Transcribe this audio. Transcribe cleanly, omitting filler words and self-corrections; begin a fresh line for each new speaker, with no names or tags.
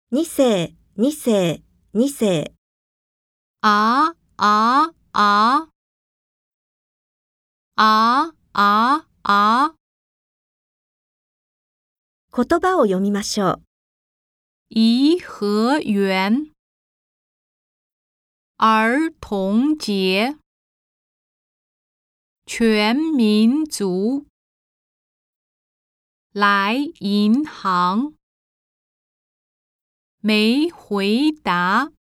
二世、二世、二世。
あ、あ、あ。あ、あ、あ。
言葉を読みましょう。
颐和园儿童节全民族来银行没回答